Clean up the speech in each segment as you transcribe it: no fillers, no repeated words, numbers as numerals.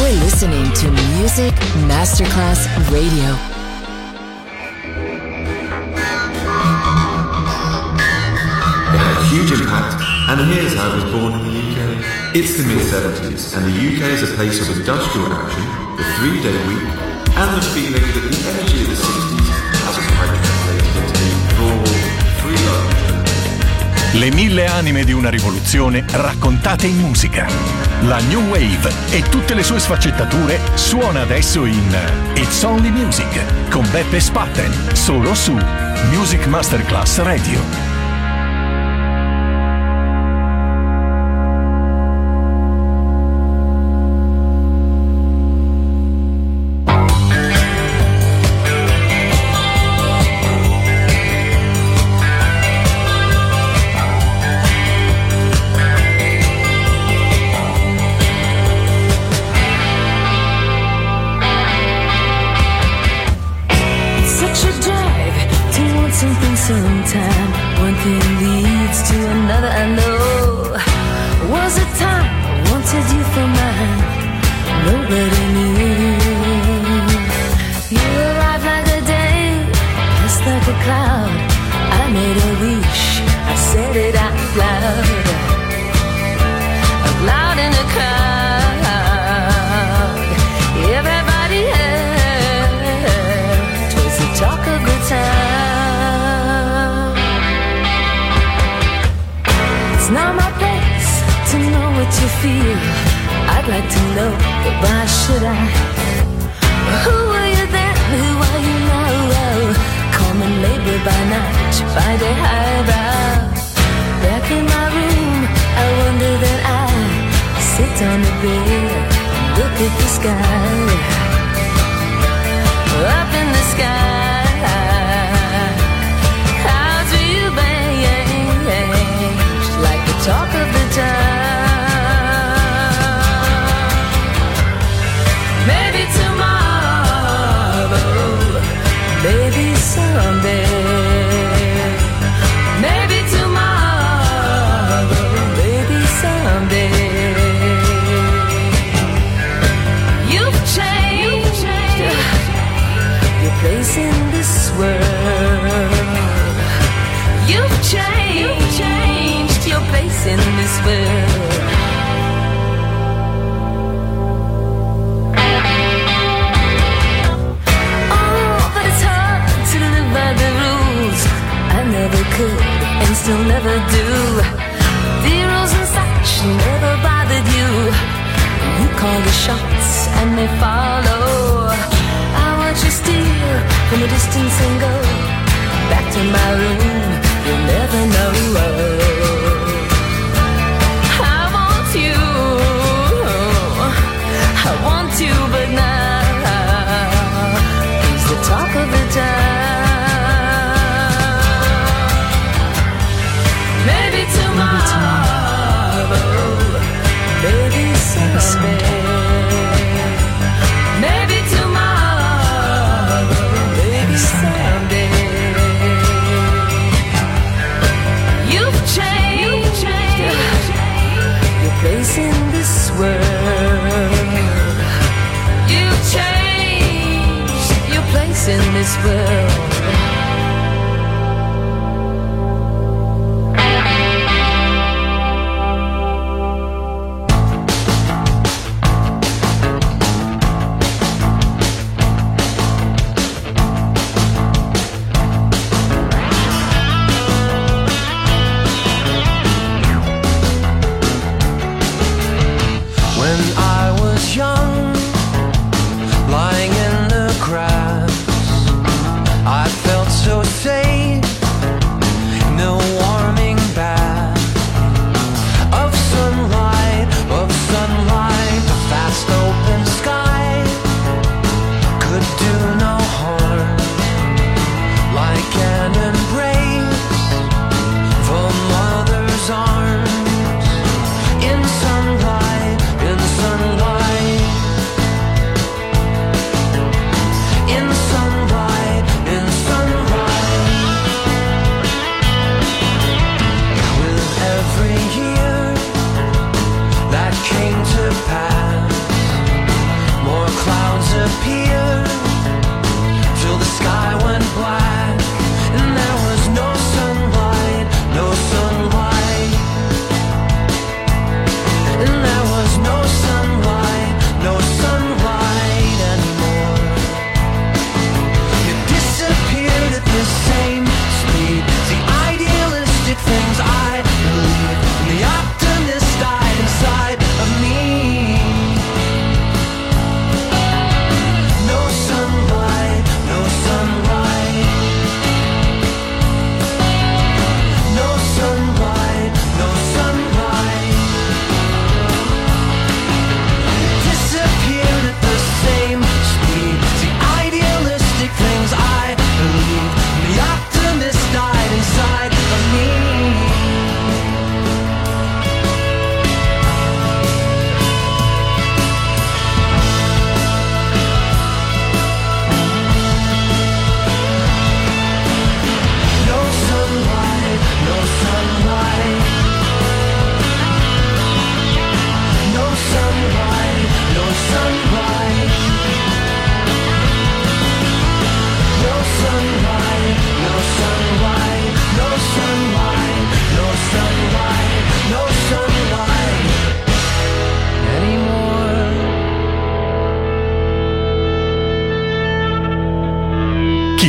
You're listening to Music Masterclass Radio. It had a huge impact, and here's how it was born in the UK. It's the mid-70s, and the UK is a place of industrial action, the 3-day week, and the feeling that the energy of the 60s hasn't quite translated into the raw, free love. Le 1000 anime di una rivoluzione raccontate in musica. La New Wave e tutte le sue sfaccettature suona adesso in It's Only Music con Beppe Spatten, solo su Music Masterclass Radio. Sometime one thing leads to another. I know was a time I wanted you for mine. Nobody knew. You arrived like a day, just like a cloud. I made a wish, I said it out loud, out loud in the crowd. Everybody heard 'twas the talk of the town. It's not my place to know what you feel. I'd like to know, but why should I? Who were you then? Who are you now? Common labor by night, by day highbrow. Back in my room, I wonder that I sit on the bed, look at the sky. Up in the sky. Talk of the town. Maybe tomorrow, maybe someday. Maybe tomorrow, maybe someday. You've changed your place in this world. You've changed your place in this world. Oh, but it's hard to live by the rules. I never could and still never do. The rules and such never bothered you. You call the shots and they follow. I watch you steal from a distance and go back to my room. You'll never know. I want you, but now he's the talk of the town. Maybe tomorrow, maybe someday. Maybe tomorrow, maybe someday. You've changed your place in this world. You've changed your place in this world.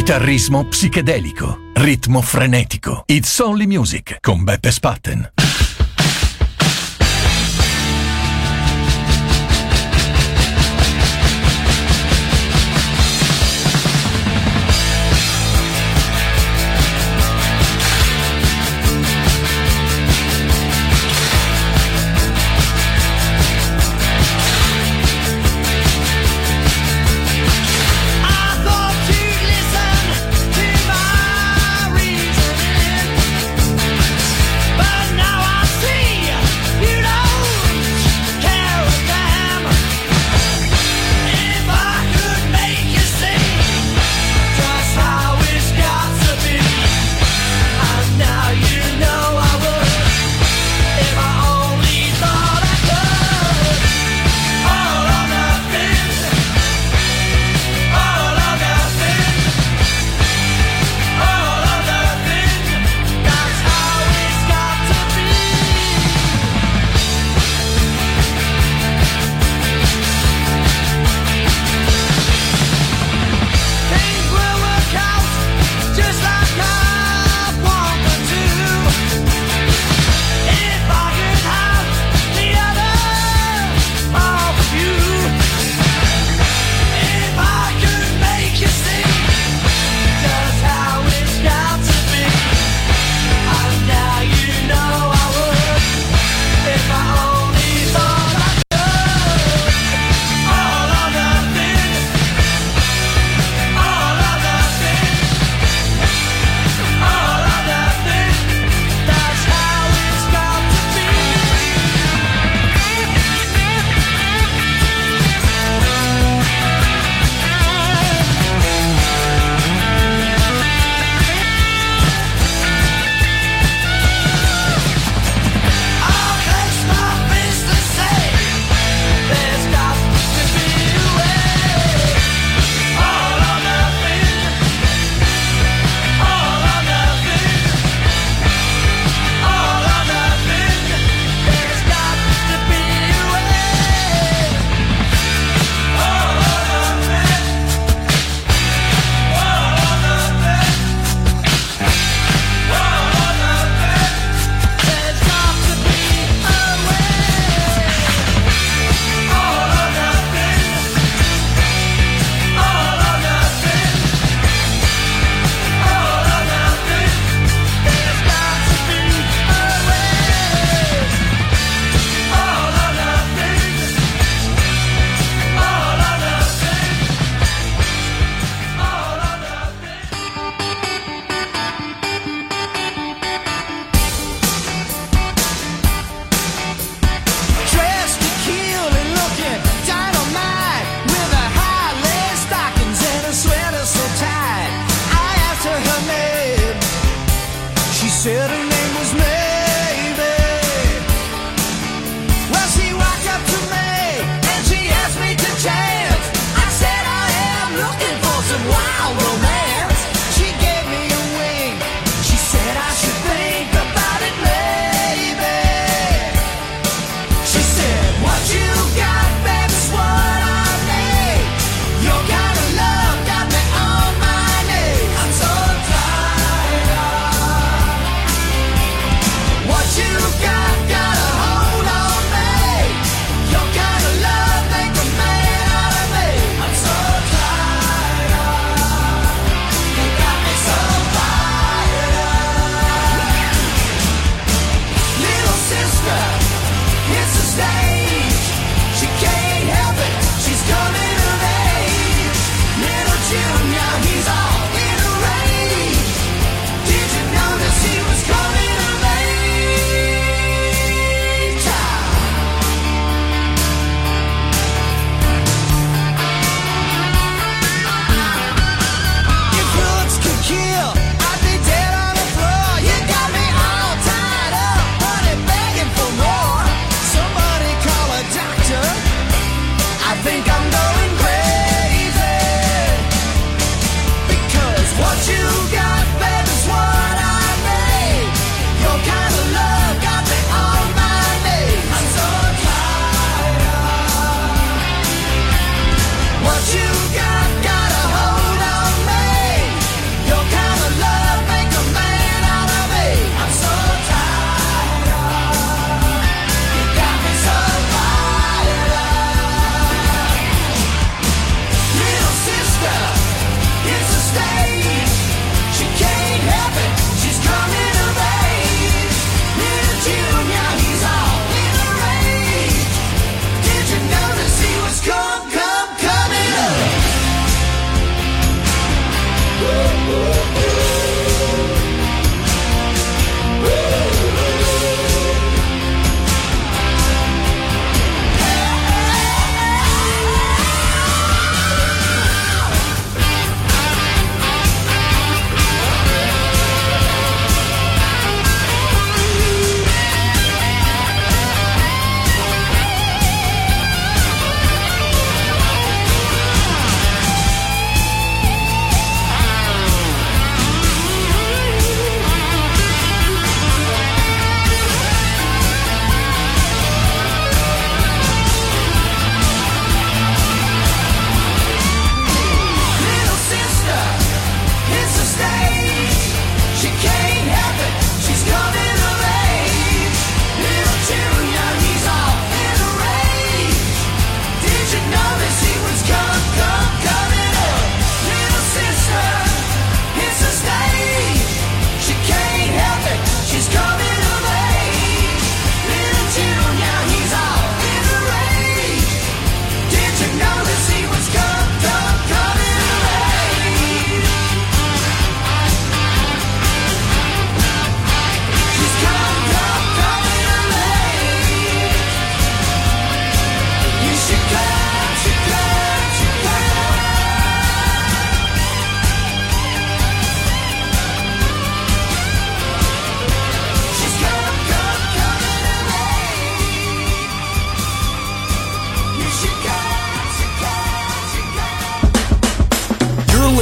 Chitarrismo psichedelico, ritmo frenetico. It's Only Music con Beppe Spatten. But now I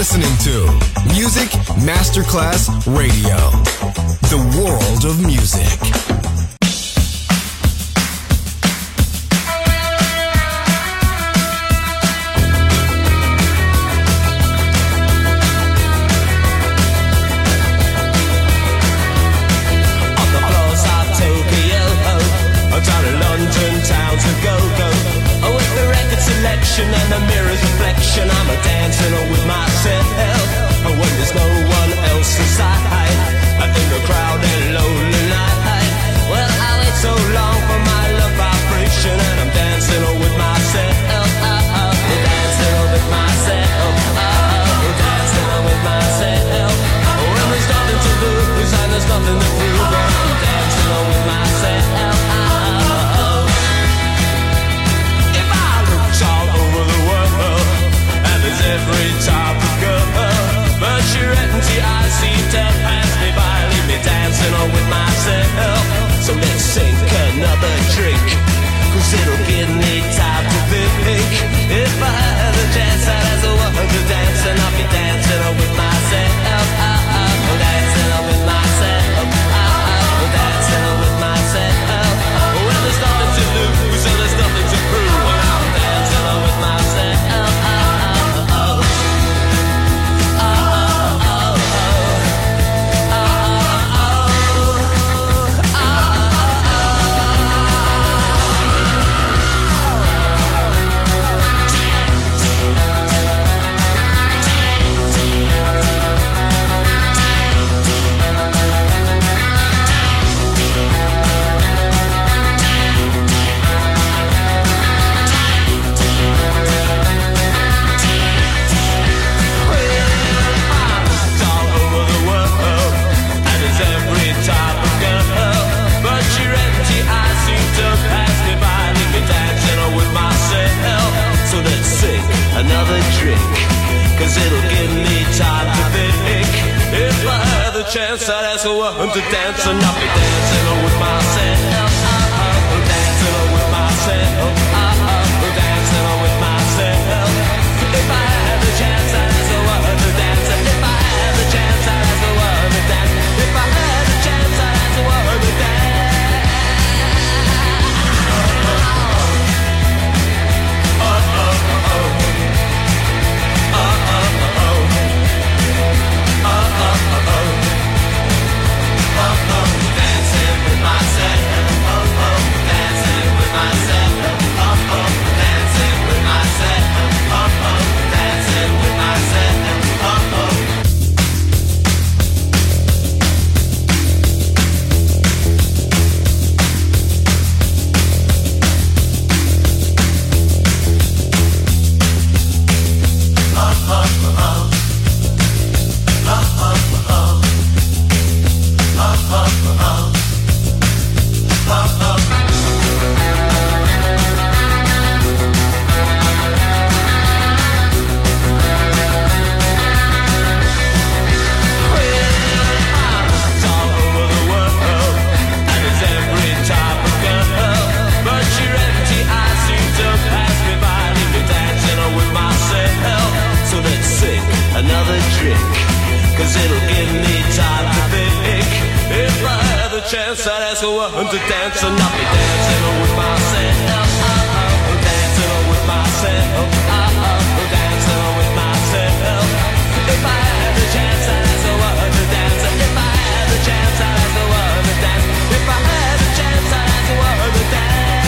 listening to Music Masterclass Radio, the world of music. On the floors of Tokyo, down in London town to go. With the record selection and the mirror's reflection, I'm a dancing with myself. When there's no one else inside, in the crowded lonely night. Well, I wait so long for my love vibration, and I'm dancing with myself. Dancing with myself. Dancing with myself. When there's nothing to lose and there's nothing to prove, I'm dancing with myself. All over the world, and there's every type of girl, but your empty eyes seem to pass me by, leave me dancing on with myself. So let's sink another drink, cause it'll give me time to think. If I had a chance, I'd ask a woman to dance, and I'll be dancing on with myself. Dancing on with myself. Dancing on with myself. Well, there's nothing to lose, and there's nothing to prove. With myself, another drink, cause it'll give me time to think. If I had the chance, I'd ask a woman to dance, and I'll be dancing with myself. Dancing with myself. Dancing with myself. If I had the chance, I'd ask a woman to dance. If I had the chance, I'd ask a woman to dance. If I had the chance, I'd ask a woman to dance. Dancing with myself. Dancing with myself. Dancing with myself. Dancing with myself. Another drink, cause it'll give me time to think. If I had the chance, I'd ask a woman to dance, and I'll be dancing with myself. Dancing with myself. Dancing with myself. If I had the chance, I'd ask a woman to dance. If I had the chance, I'd ask a woman to dance. If I had the chance, I'd ask a woman to dance.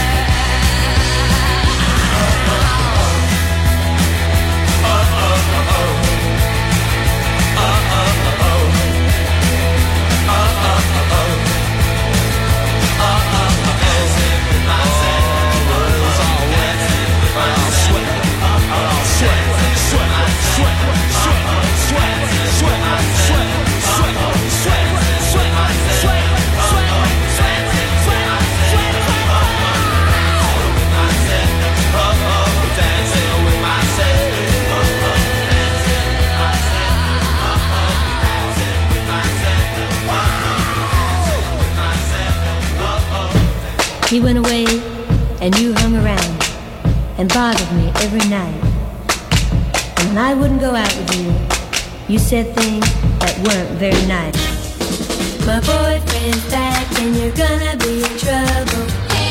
He went away and you hung around and bothered me every night. And when I wouldn't go out with you, You said things that weren't very nice. My boyfriend's back and you're gonna be in trouble.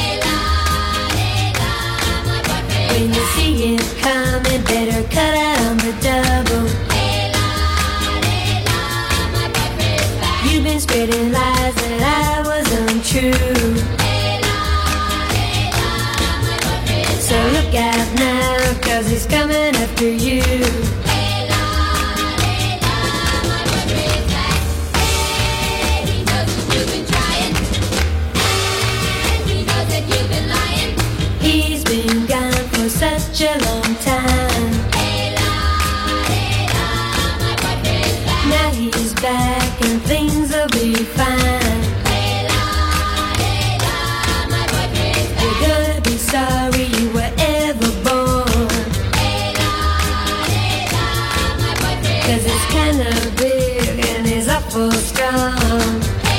When you see him coming, better cut out on the double. You've been spreading lies that I was untrue. So look out now, 'cause he's coming after you. He's been gone for such a long time. Now he's back and things will be fine. You're gonna be sorry you were ever born. 'Cause it's kinda big and he's awful strong.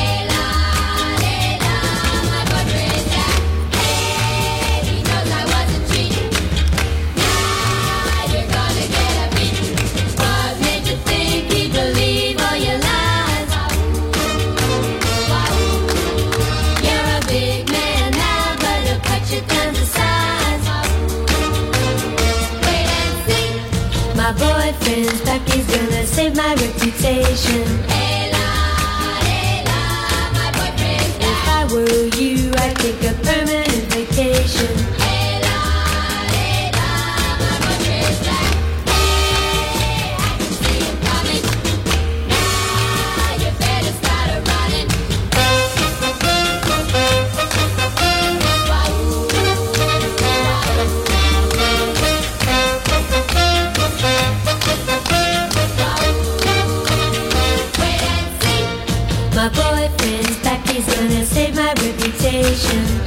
My boyfriend's back, he's gonna save my reputation. If I were you, I'd take a permanent vacation. My boyfriend's back, he's gonna save my reputation.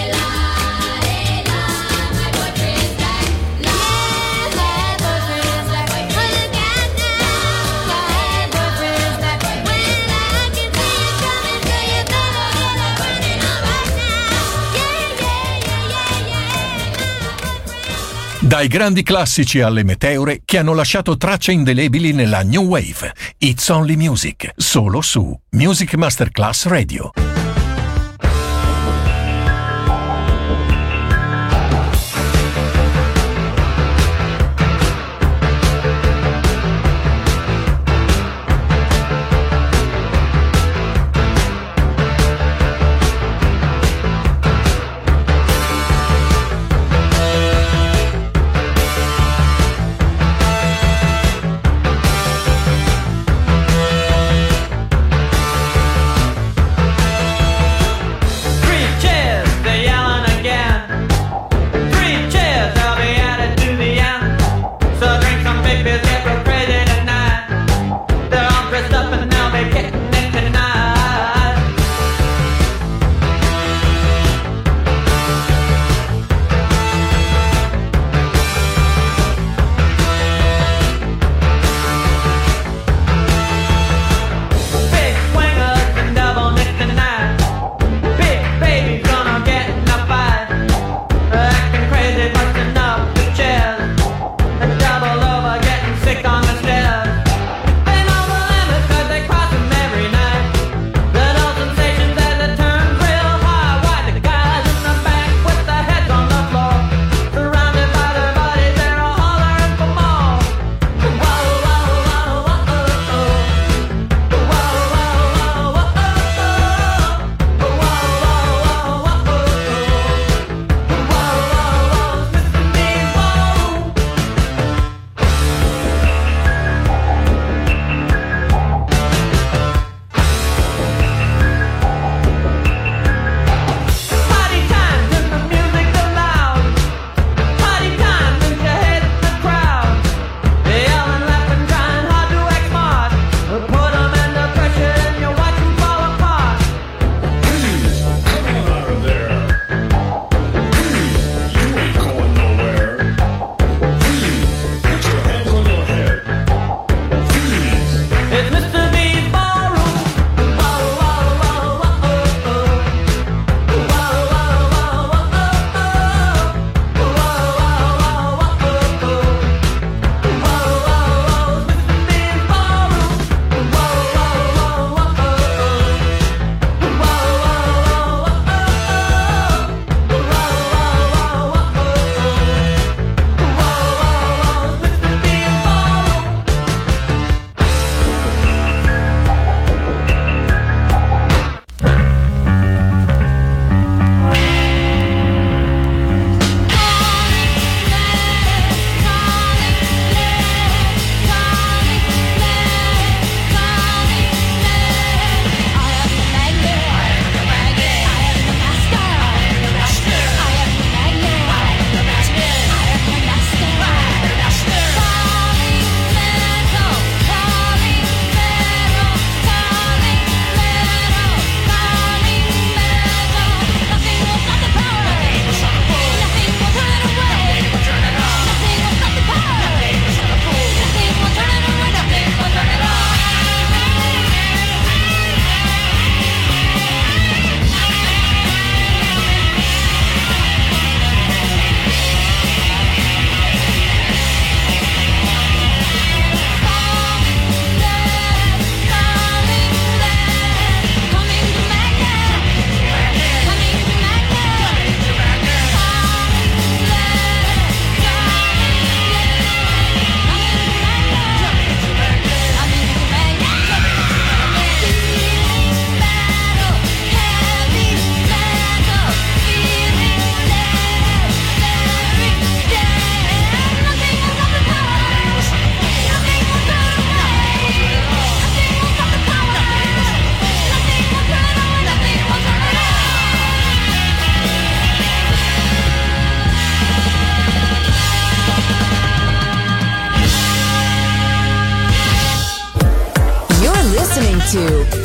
Dai grandi classici alle meteore che hanno lasciato tracce indelebili nella New Wave. It's Only Music, solo su Music Masterclass Radio.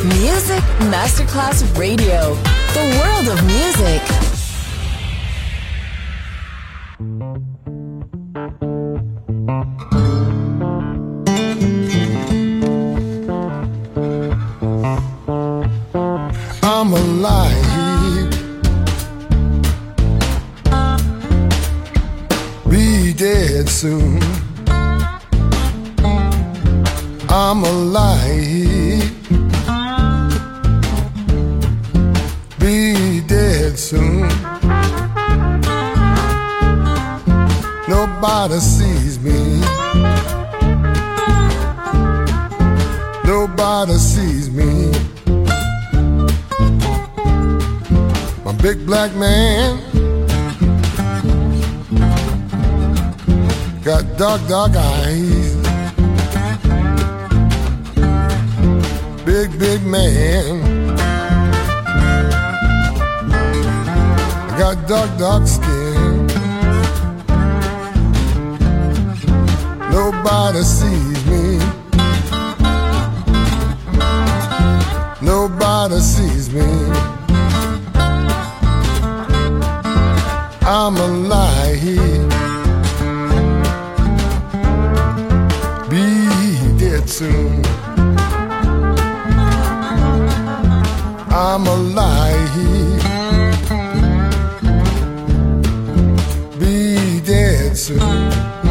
Music Masterclass Radio. The world of music. I'm alive. Be dead soon. I'm alive. Be dead soon. Nobody sees me. Nobody sees me. My big black man got dark, dark eyes. Big, big man got dark, dark skin. Nobody sees me. Nobody sees me. I'm alive. Be dead soon. I'm alive. Be dead soon.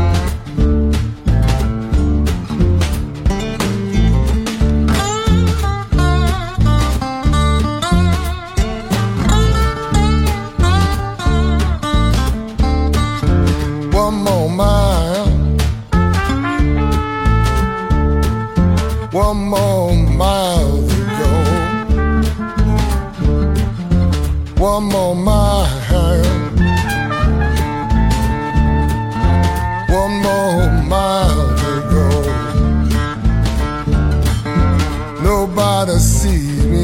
One more mile. One more mile to go. One more mile. One more mile to go. Nobody sees me.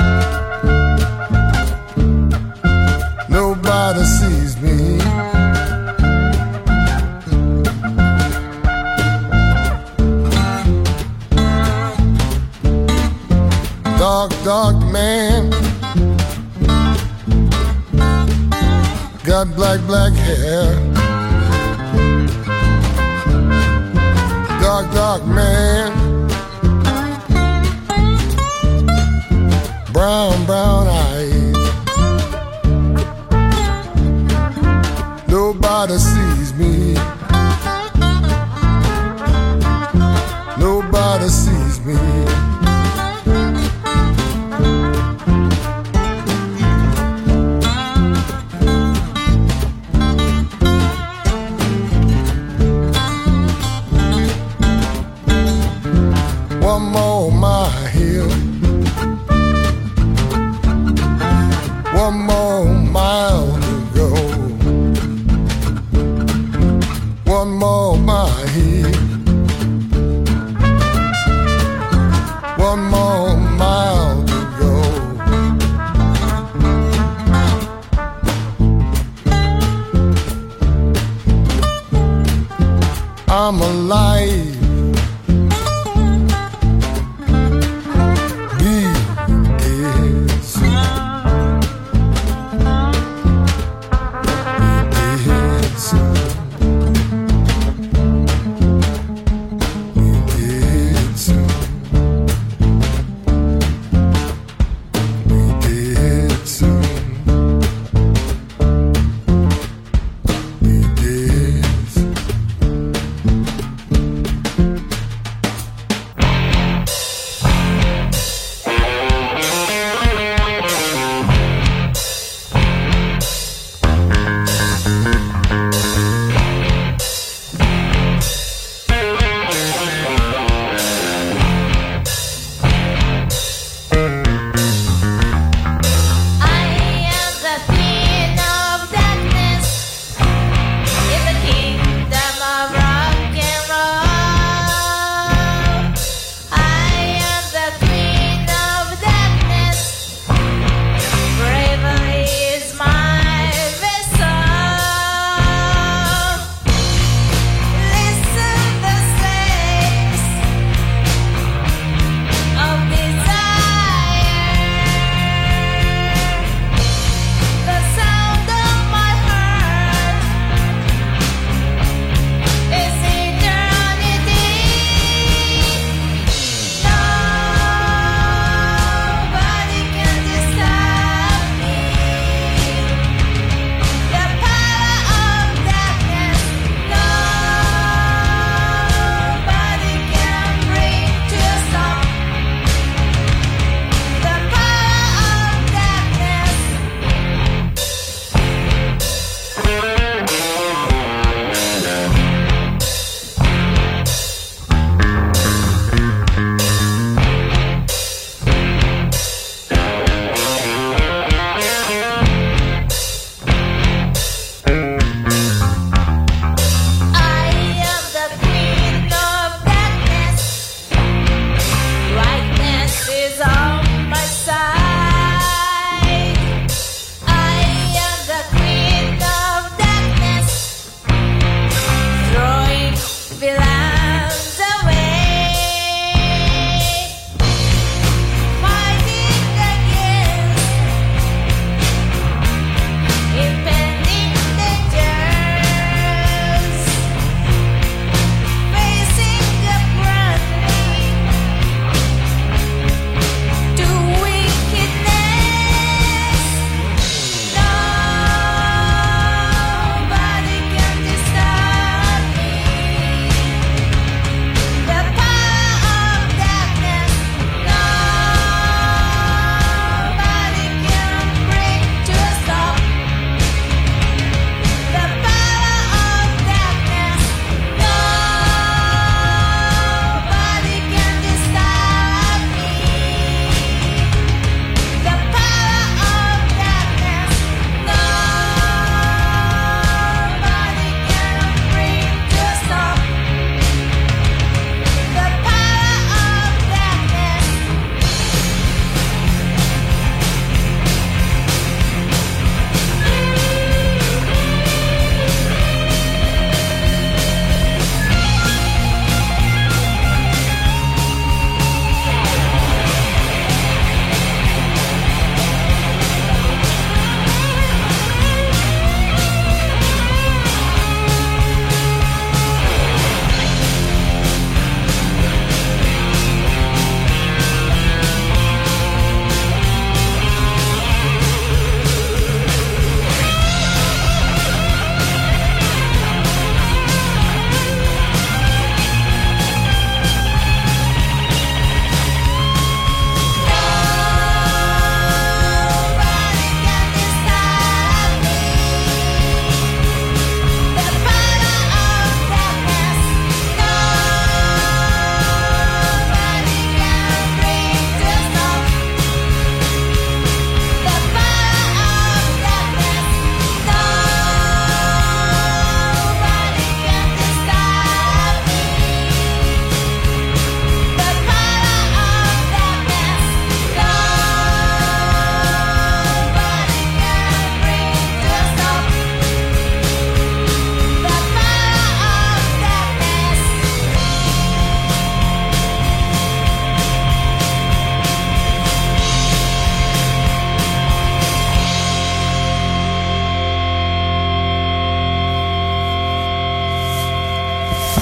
Nobody sees me. Dark, dark man got black, black hair. Dark, dark man, brown, brown eyes. Nobody sees me. Nobody sees me. One more mile. One more mile to go. One more mile. One more mile to go. I'm alive.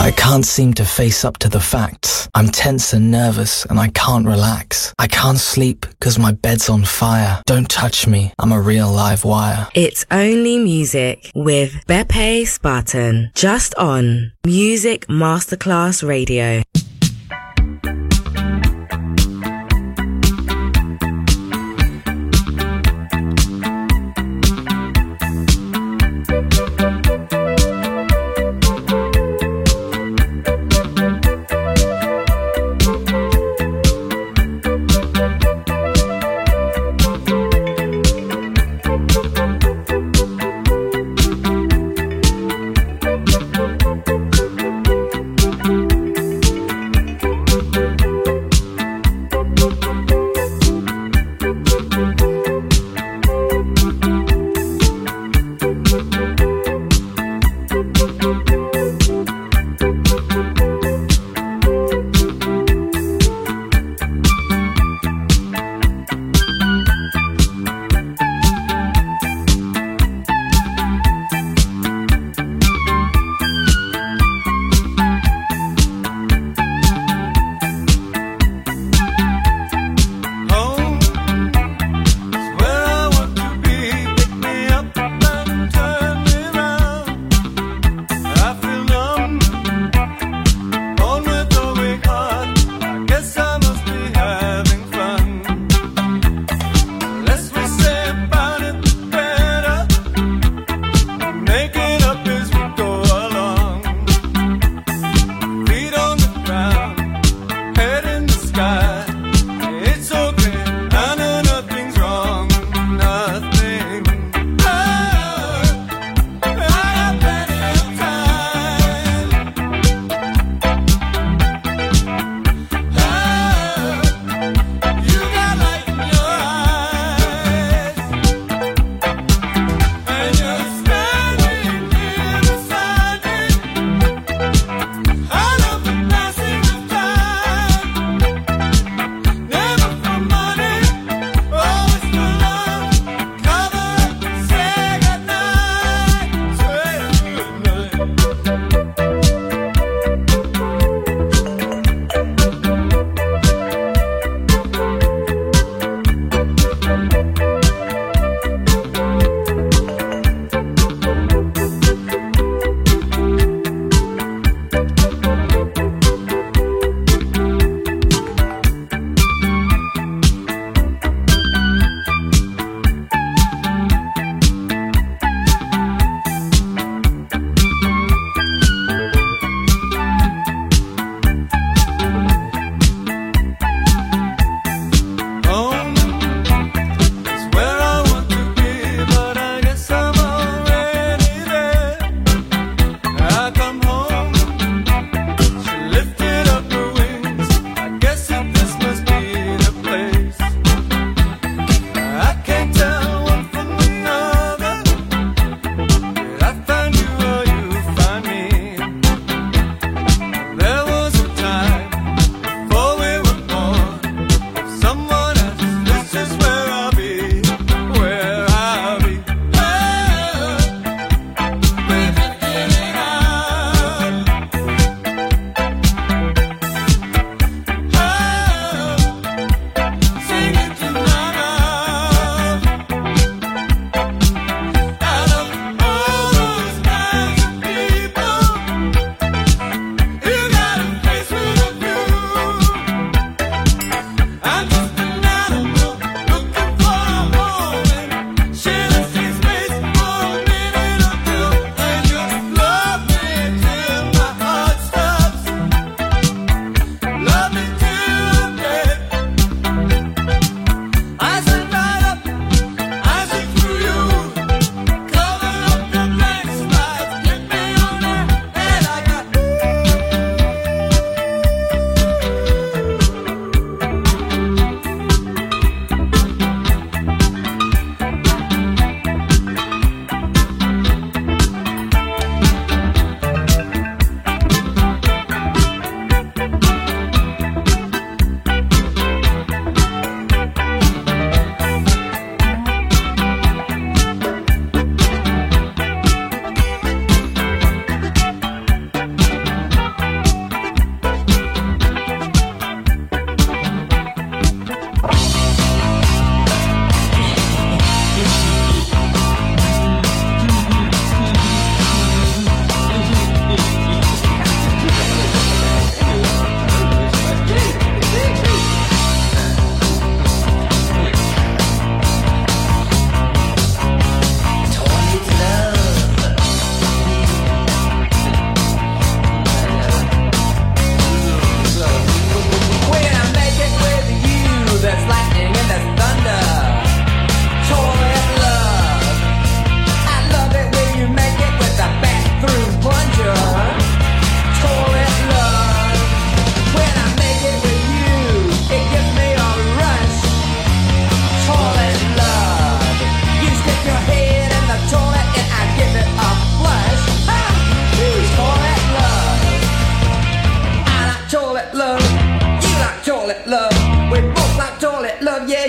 I can't seem to face up to the facts. I'm tense and nervous and I can't relax. I can't sleep because my bed's on fire. Don't touch me, I'm a real live wire. It's Only Music with Beppe Spartan, just on Music Masterclass Radio.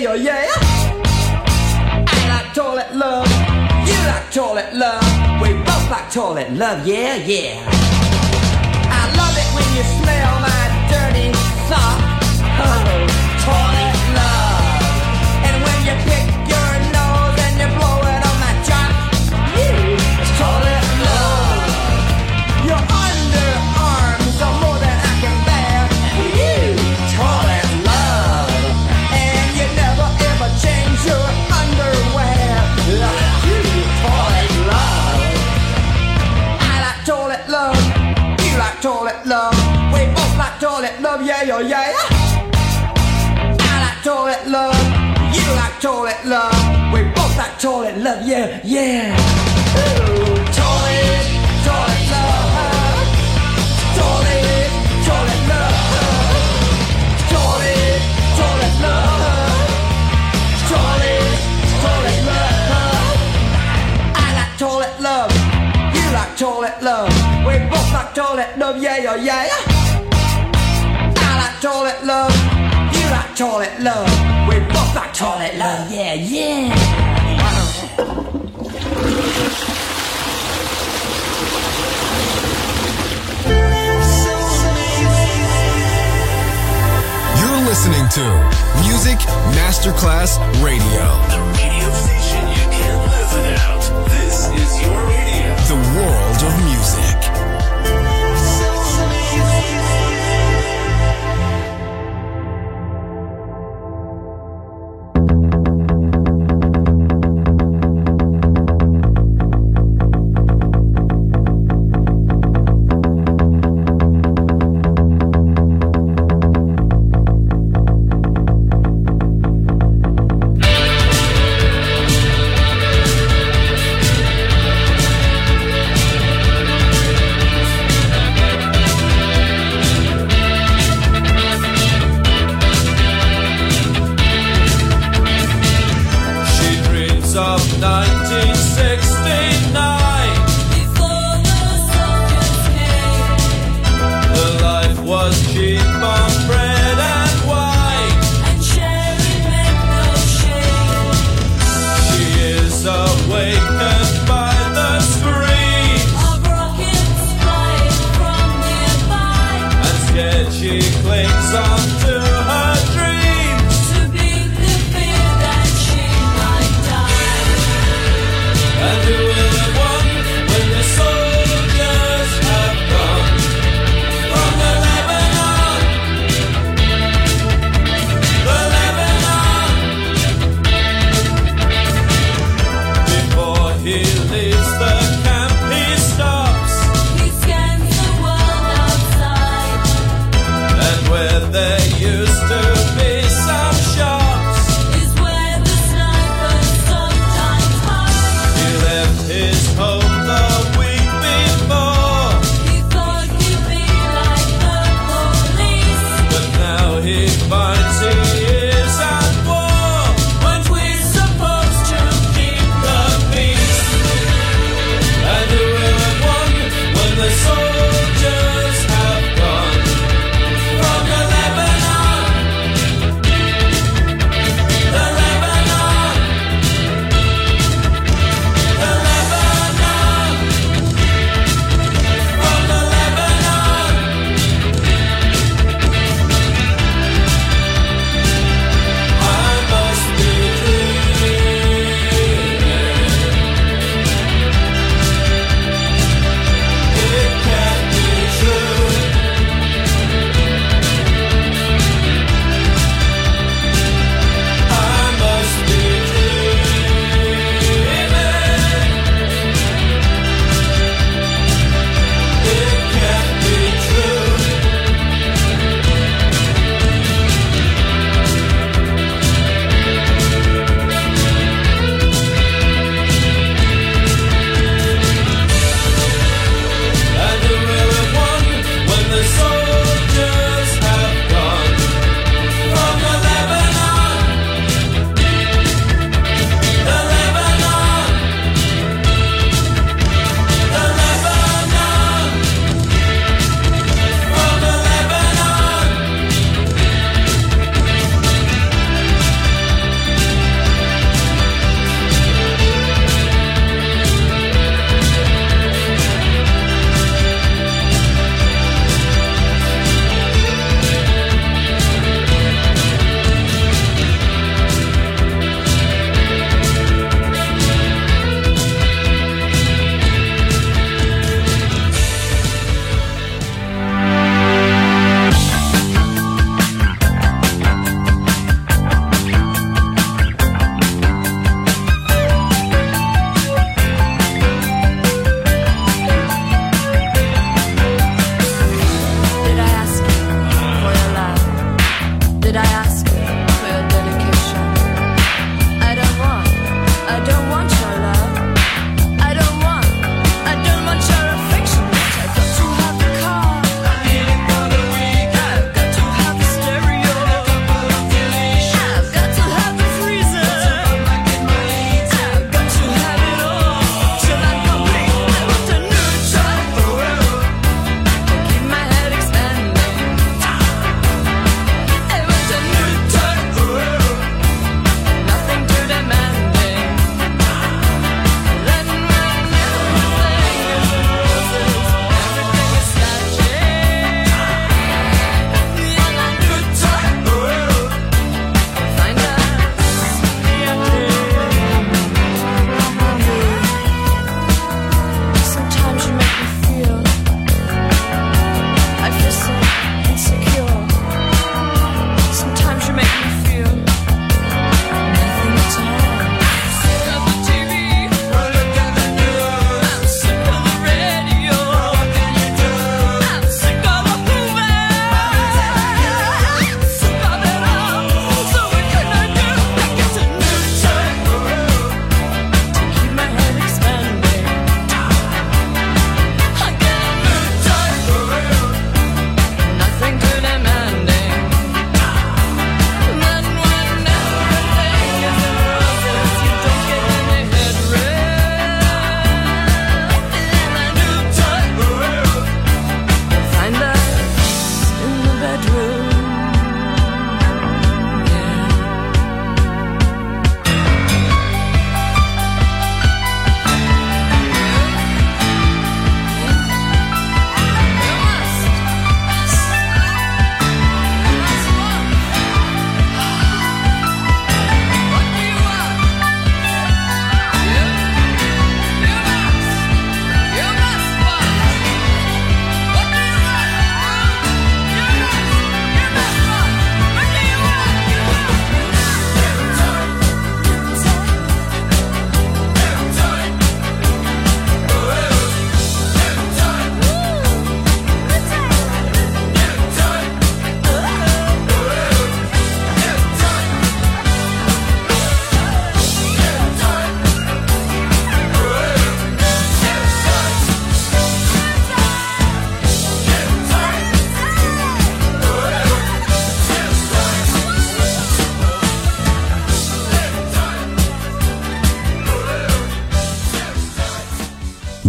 yeah, oh yeah. I like toilet love, you like toilet love. We both like toilet love, yeah, yeah. I love it when you smell my dirty sock. Oh, toilet love. And when you pick your nose and you blow it on my jock, it's toilet love. Your underarms are more than I can bear. Toilet love. And you never ever change your underwear. Toilet love. I like toilet love. You like toilet love. We both like toilet love, yeah, oh yeah. I like toilet love. You like toilet love. We both like toilet love, yeah, yeah. Ooh, toilet, toilet love. Toilet, toilet love. Toilet, toilet love. Toilet, toilet love. I like toilet love. You like toilet love. We both like toilet love, yeah, oh yeah. I like toilet love. You like toilet love. We both like toilet love, yeah, yeah. You're listening to Music Masterclass Radio. The radio station you can't live without. This is your radio. The world of music. Where they use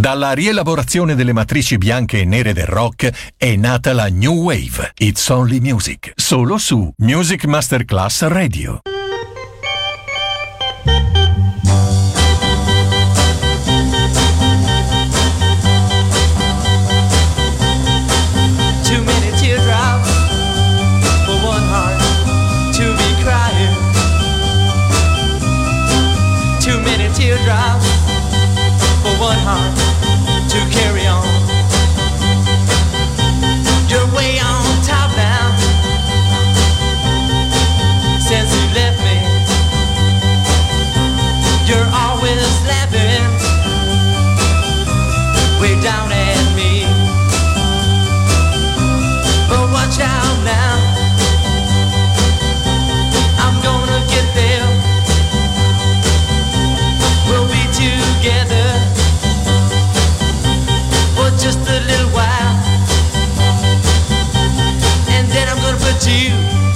Dalla rielaborazione delle matrici bianche e nere del rock è nata la New Wave. It's Only Music, solo su Music Masterclass Radio. Too many teardrops for one heart to be crying. Too many teardrops for one heart to carry on. You're way on top now since you left me. You're always laughing way down at me. But watch out now, I'm gonna get there. We'll be together for just a little while, and then I'm gonna put you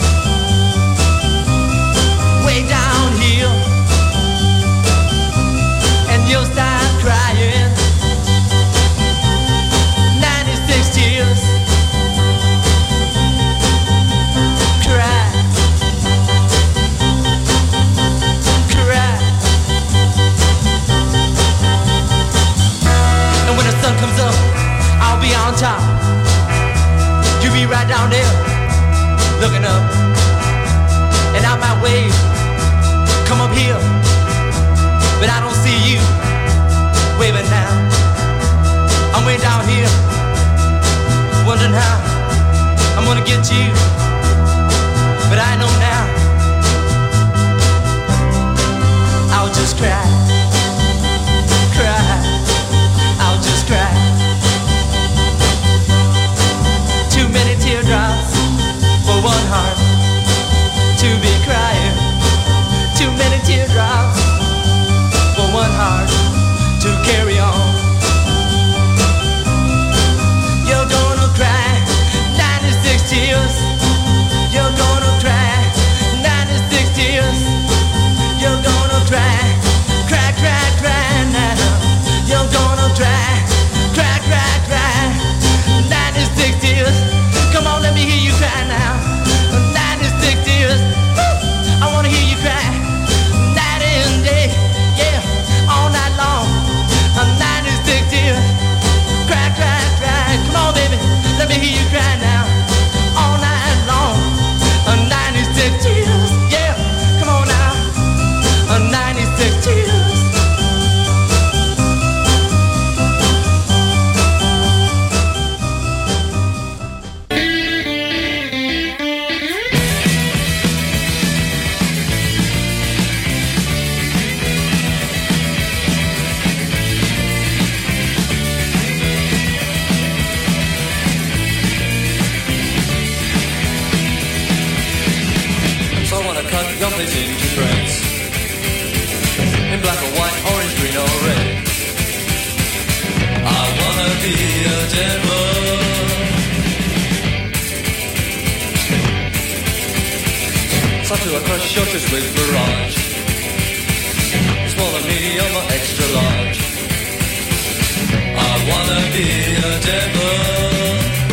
way down here, and you'll start crying 96 tears. Cry, cry. And when the sun comes up, I'll be on top. You be right down there, looking up. And out my way, come up here. But I don't see you waving now. I'm way down here, wondering how I'm gonna get you. But I know now, I'll just cry, cry, I'll just cry. Too many teardrops for one heart to be crying. Too many teardrops for one heart to carry on. You're gonna cry 96 tears. You're gonna cry 96 tears. You're gonna cry, cry, cry, cry now. You're gonna cry, cry, cry, cry 96 tears. Come on, let me hear you cry now. 96 tears. Woo! I wanna hear you cry night and day, yeah, all night long. 96 tears. Cry, cry, cry. Come on, baby, let me hear you cry now. All night long. 96 tears. Yeah, come on now. 96 tears. So I wanna cut your face into shreds, in black or white, orange, green or red. I wanna be a devil. So to I crush your chest with barrage. You swallow me on my extra large. I wanna be a devil.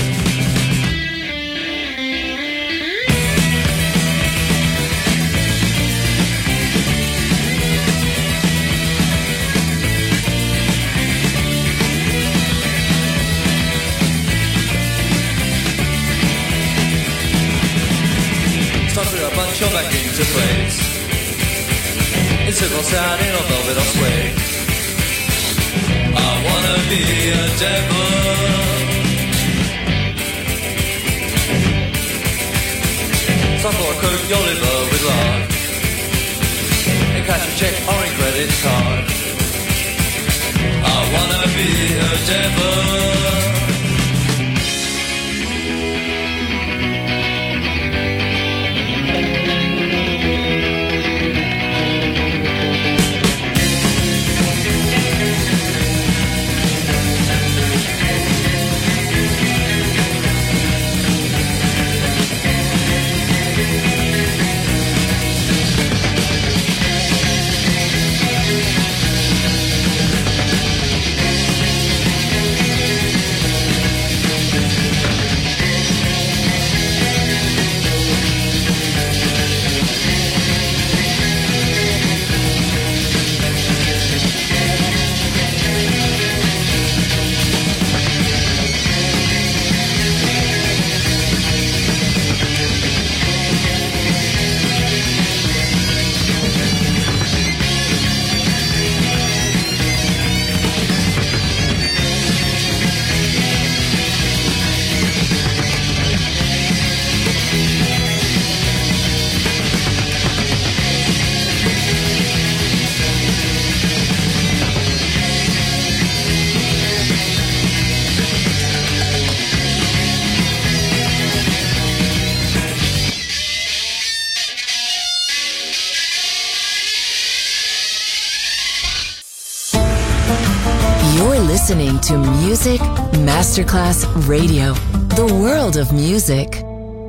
Start to punch your back into place. In circles out in a velvet or sway. I wanna be a devil. Start for a coat your liver with lard. And cash a check or a credit card. I wanna be a devil. to Music Masterclass Radio, the world of music.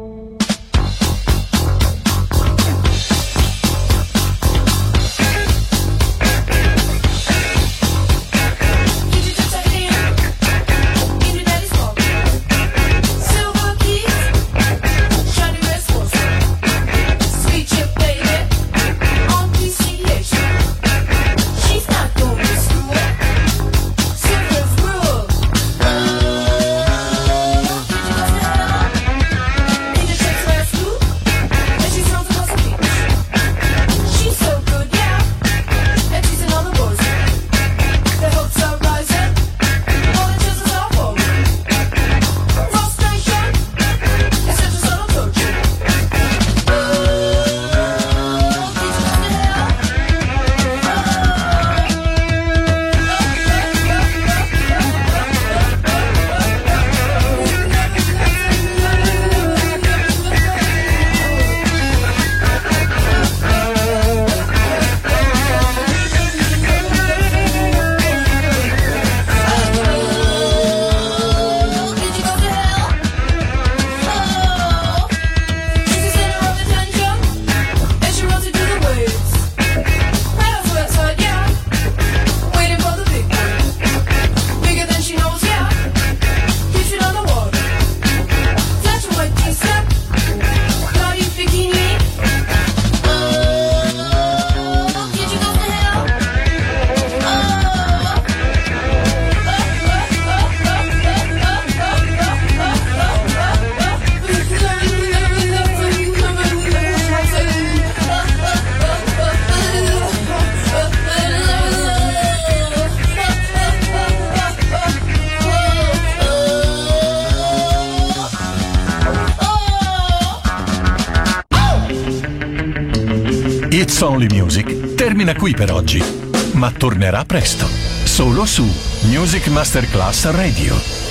It's Only Music termina qui per oggi, ma tornerà presto, solo su Music Masterclass Radio.